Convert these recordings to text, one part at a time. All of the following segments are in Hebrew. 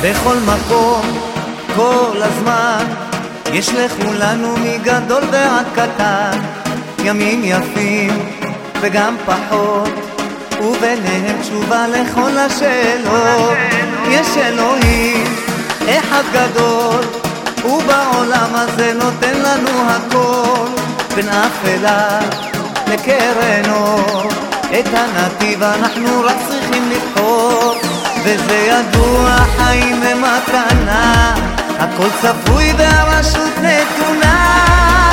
בכל מקום, כל הזמן, יש לכולנו מגדול ועד קטן, ימים יפים וגם פחות, וביניהם תשובה לכל השאלות. יש אלוהים אחד גדול, ובעולם הזה נותן לנו הכל, בין אפלה לקרן אור, את הנתיב אנחנו רק צריכים לבחור. וזה ידוע, חיים הם מתנה, הכל צפוי והרשות נתונה.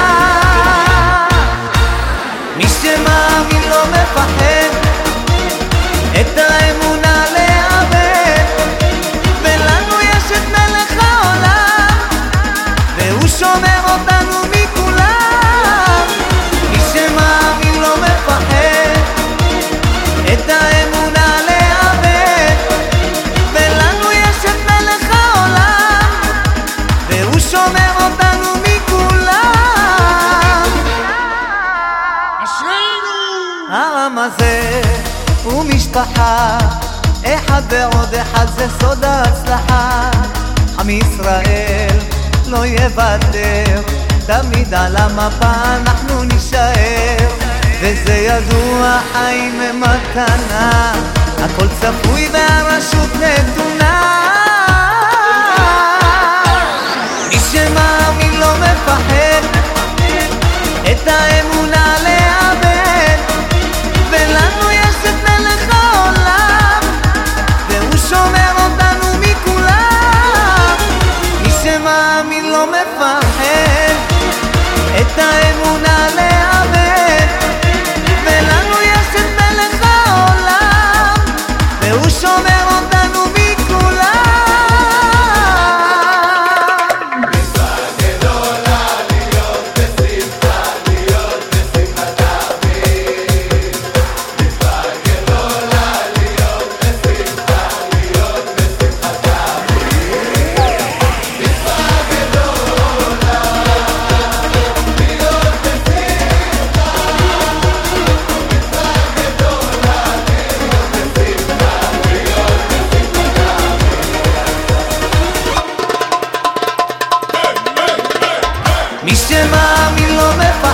מי שמאמין לא מפחד, את האמונה לאבד, ולנו יש את מלך העולם, והוא שומר אותנו מכולם. מי שמאמין לא מפחד, את האמונה לאבד, ולנו יש את מלך העולם, והוא שומר אותנו מכולם. אשרינו! העם הזה הוא משפחה, אחד ועוד אחד זה סוד ההצלחה. עם ישראל לא יוותר, תמיד על המפה אנחנו נשאר. וזה ידוע, חיים הם מתנה, הכל צפוי והרשות נתונה. מי שמאמין לא מפחד, את האמונה לאבד, ולנו יש את מלך העולם, והוא שומר אותנו מכולם. מי שמאמין לא מפחד, את האמונה לאבד, ולנו יש את מלך העולם, והוא שומר אותנו מכולם. מצווה גדולה להיות בשמחה, להיות בשמחת אביב. מצווה גדולה להיות בשמחה, להיות בשמחת אביב. מצווה גדולה להיות בשמחה, מצווה גדולה להיות בשמחה, להיות בשמחת אביב. מי שמאמין לא מפחד,